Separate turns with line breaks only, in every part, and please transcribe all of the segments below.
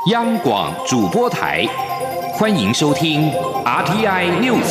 央广主播台，欢迎收听 RTI News。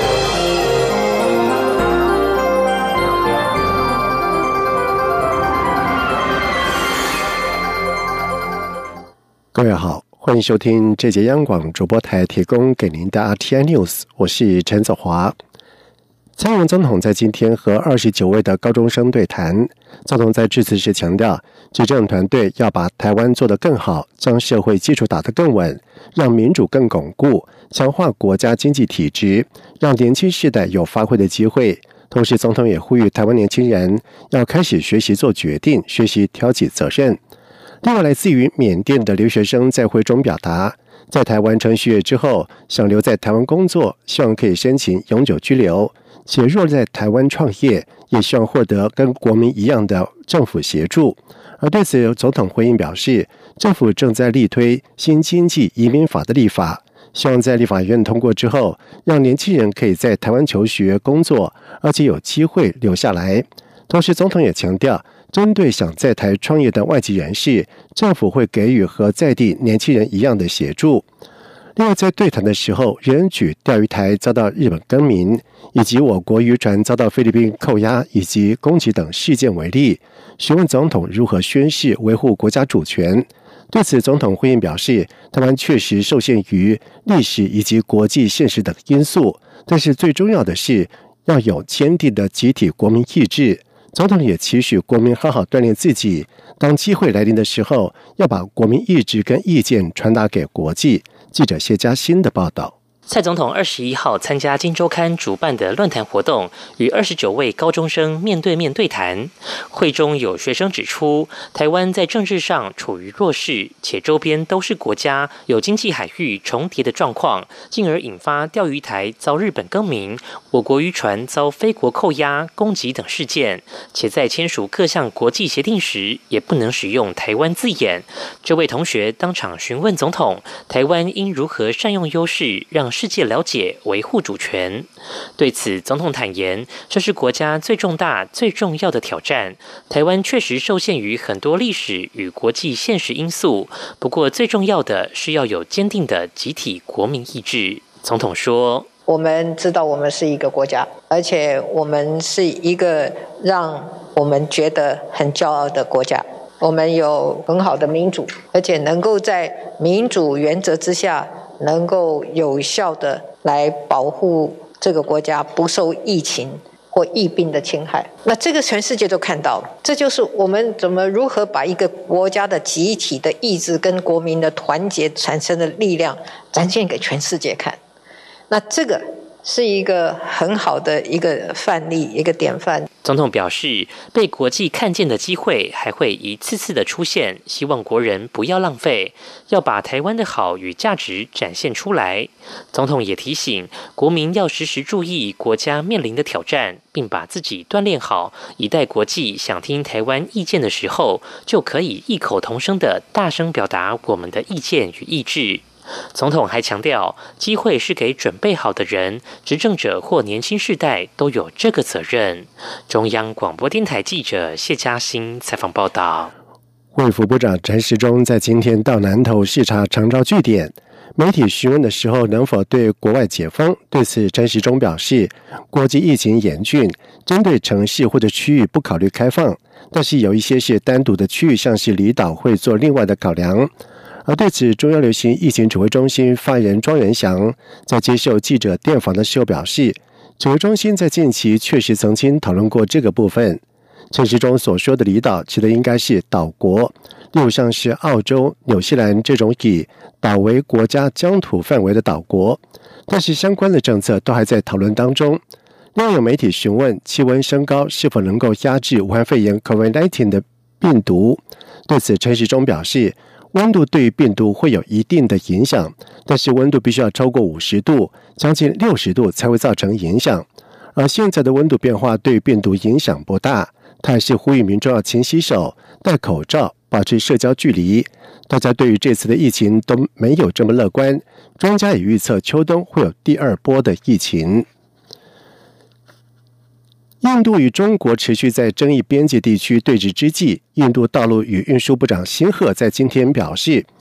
各位好，欢迎收听这节央广主播台提供给您的 RTI News， 我是陈子华。蔡英文总统在今天和29位的高中生对谈，总统在致辞时强调，执政团队要把台湾做得更好，将社会基础打得更稳，让民主更巩固，强化国家经济体制，让年轻世代有发挥的机会。同时，总统也呼吁台湾年轻人要开始学习做决定，学习挑起责任。另外，来自于缅甸的留学生在会中表达，在台湾程序业之后，想留在台湾工作，希望可以申请永久居留，且若在台湾创业，也希望获得跟国民一样的政府协助。而对此，总统回应表示，政府正在力推新经济移民法的立法，希望在立法院通过之后，让年轻人可以在台湾求学、工作，而且有机会留下来。同时，总统也强调，针对想在台创业的外籍人士，政府会给予和在地年轻人一样的协助。另外，在对谈的时候，仍举钓鱼台遭到日本更名，以及我国渔船遭到菲律宾扣押以及攻击等事件为例，询问总统如何宣示维护国家主权。对此，总统回应表示，台湾确实受限于历史以及国际现实等因素，但是最重要的是要有坚定的集体国民意志。总统也期许国民好好锻炼自己，当机会来临的时候，要把国民意志跟意见传达给国际。记者谢嘉欣的报道。
蔡总统21号参加《今周刊》主办的论坛活动，与29位高中生面对面对谈。会中有学生指出，台湾在政治上处于弱势，且周边都是国家，有经济海域重叠的状况，进而引发钓鱼台遭日本更名，我国渔船遭非国扣押、攻击等事件，且在签署各项国际协定时，也不能使用台湾字眼。这位同学当场询问总统，台湾应如何善用优势，让世界了解维护主权。对此，总统坦言，这是国家最重大、最重要的挑战。台湾确实受限于很多历史与国际现实因素，不过最重要的是要有坚定的集体国民意志。总统说，
我们知道我们是一个国家，而且我们是一个让我们觉得很骄傲的国家。我们有很好的民主，而且能够在民主原则之下，能够有效的来保护这个国家不受疫情或疫病的侵害。那这个全世界都看到了，这就是我们如何把一个国家的集体的意志跟国民的团结产生的力量展现给全世界看。那这个是一个很好的一个范例，一个典范。
总统表示，被国际看见的机会还会一次次的出现，希望国人不要浪费，要把台湾的好与价值展现出来。总统也提醒国民要时时注意国家面临的挑战，并把自己锻炼好，以待国际想听台湾意见的时候，就可以异口同声的大声表达我们的意见与意志。总统还强调，机会是给准备好的人，执政者或年轻世代都有这个责任。中央广播电台记者谢嘉欣采访报道。
卫福部长陈时中在今天到南投视察长照据点，媒体询问的时候能否对国外解封，对此陈时中表示，国际疫情严峻，针对城市或者区域不考虑开放，但是有一些是单独的区域，像是离岛会做另外的考量。而对此，中央流行疫情指挥中心发言人庄元祥在接受记者电访的时候表示，指挥中心在近期确实曾经讨论过这个部分。陈时中所说的离岛指的应该是岛国，例如像是澳洲、纽西兰这种以岛为国家疆土范围的岛国，但是相关的政策都还在讨论当中。另外有媒体询问气温升高是否能够压制武汉肺炎 COVID-19 的病毒，对此陈时中表示，温度对于病毒会有一定的影响，但是温度必须要超过50度，将近60度才会造成影响。而现在的温度变化对病毒影响不大，他还是呼吁民众要勤洗手、戴口罩、保持社交距离。大家对于这次的疫情都没有这么乐观，专家也预测秋冬会有第二波的疫情。印度与中国持续在争议边界地区对峙之际，印度道路与运输部长辛赫在今天表示，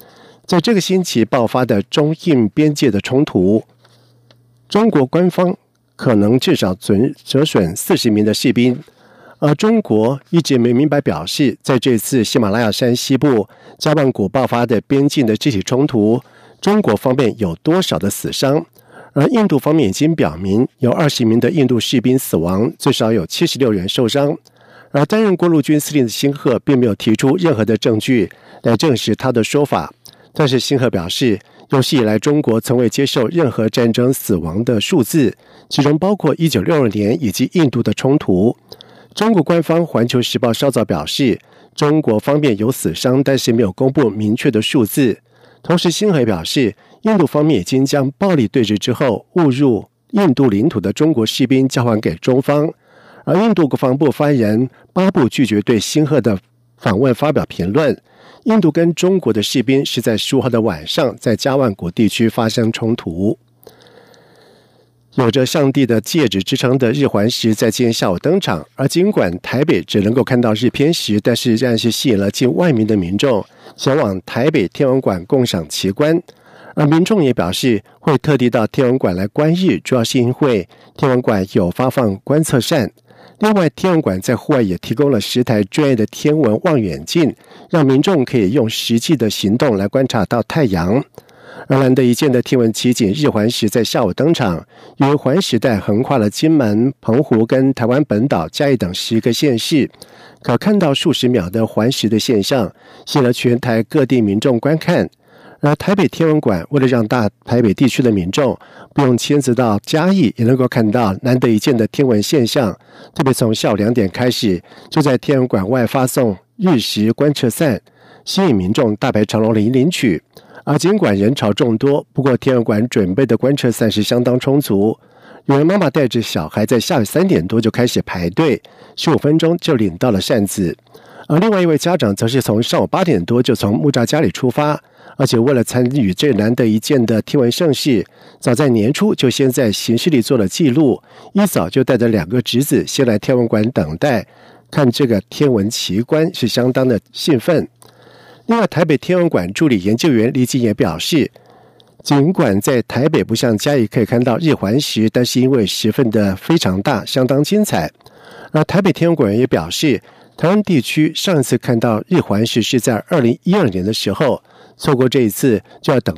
在这个星期爆发的中印边界的冲突，中国官方可能至少折损40名的士兵，而中国一直没明白表示，在这次喜马拉雅山西部加万谷爆发的边境的肢体冲突，中国方面有多少的死伤。而印度方面已经表明，有20名的印度士兵死亡，最少有76人受伤。而担任国陆军司令的辛赫并没有提出任何的证据来证实他的说法。但是辛赫表示，有史以来中国从未接受任何战争死亡的数字，其中包括1962年以及印度的冲突。中国官方《环球时报》稍早表示，中国方面有死伤，但是没有公布明确的数字。同时辛赫表示，印度方面已经将暴力对峙之后误入印度领土的中国士兵交还给中方。而印度国防部发言人巴布拒绝对辛赫的访问发表评论。印度跟中国的士兵是在15号的晚上在加万谷地区发生冲突。有着上帝的戒指之称的日环食在今天下午登场，而尽管台北只能够看到日偏食，但是仍然是吸引了近万名的民众前往台北天文馆共赏奇观。而民众也表示会特地到天文馆来观日，主要是因为天文馆有发放观测扇。另外，天文馆在户外也提供了10台专业的天文望远镜，让民众可以用实际的行动来观察到太阳。而难得一见的天文奇景日环食在下午登场，由于环时带横跨了金门、澎湖跟台湾本岛、嘉义等10个县市，可看到数十秒的环食的现象，吸引了全台各地民众观看。而台北天文馆为了让大台北地区的民众不用亲自到嘉义也能够看到难得一见的天文现象，特别从下午2点开始，就在天文馆外发送日食观测扇，吸引民众大排长龙领取。而尽管人潮众多，不过天文馆准备的观测扇是相当充足。有人妈妈带着小孩在下午3点多就开始排队，15分钟就领到了扇子。而另外一位家长则是从上午8点多就从木栅家里出发，而且为了参与这难得一见的天文盛事，早在年初就先在行事历做了记录，一早就带着2个侄子先来天文馆等待看这个天文奇观，是相当的兴奋。另外，台北天文馆助理研究员李锦也表示，尽管在台北不像嘉义可以看到日环食，但是因为十分的非常大，相当精彩。而台北天文馆也表示，台湾地区上一次看到日环食是在2012年的时候，错过这一次就要等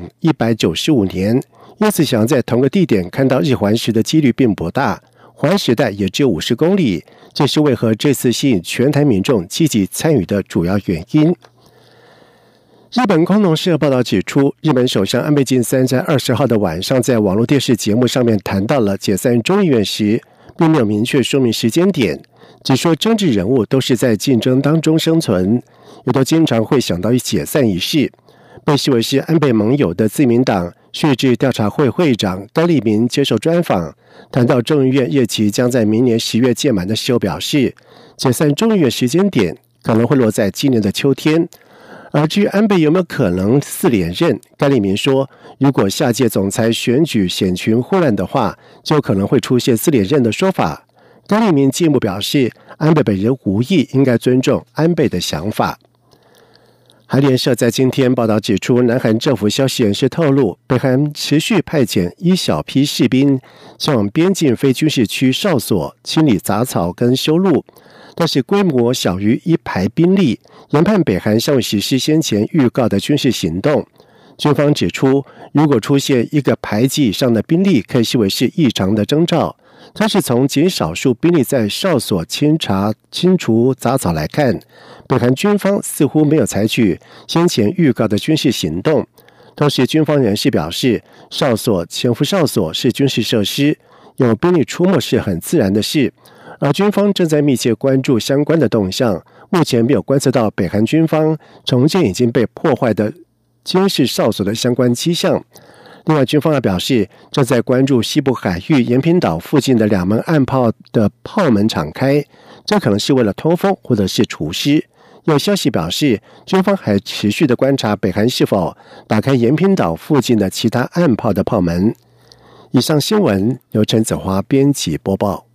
195年，因此想在同个地点看到日环食的几率并不大，环时带也只有50公里，这是为何这次吸引全台民众积极参与的主要原因。日本共同社报道指出，日本首相安倍晋三在20号的晚上在网络电视节目上面谈到了解散众议院时，并没有明确说明时间点，只说政治人物都是在竞争当中生存，也都经常会想到解散一事。被视为是安倍盟友的自民党税制调查会会长高立明接受专访，谈到众议院任期将在明年10月届满的时候表示，解散众议院时间点可能会落在今年的秋天。而至于安倍有没有可能4连任，甘利明说，如果下届总裁选举险群混乱的话，就可能会出现4连任的说法。甘利明进一步表示，安倍本人无意，应该尊重安倍的想法。韩联社在今天报道指出，南韩政府消息人士透露，北韩持续派遣一小批士兵前往边境非军事区哨所清理杂草跟修路，但是规模小于1排兵力，研判北韩尚未实施先前预告的军事行动。军方指出，如果出现1个排级以上的兵力，可以视为是异常的征兆。但是从极少数兵力在哨所清除杂草来看，北韩军方似乎没有采取先前预告的军事行动。同时，军方人士表示，哨所潜伏哨所是军事设施，有兵力出没是很自然的事。而军方正在密切关注相关的动向，目前没有观测到北韩军方重建已经被破坏的监视哨所的相关迹象。另外，军方还表示，正在关注西部海域延坪岛附近的2门岸炮的炮门敞开，这可能是为了通风或者是除湿。有消息表示，军方还持续的观察北韩是否打开延坪岛附近的其他岸炮的炮门。以上新闻由陈子华编辑播报。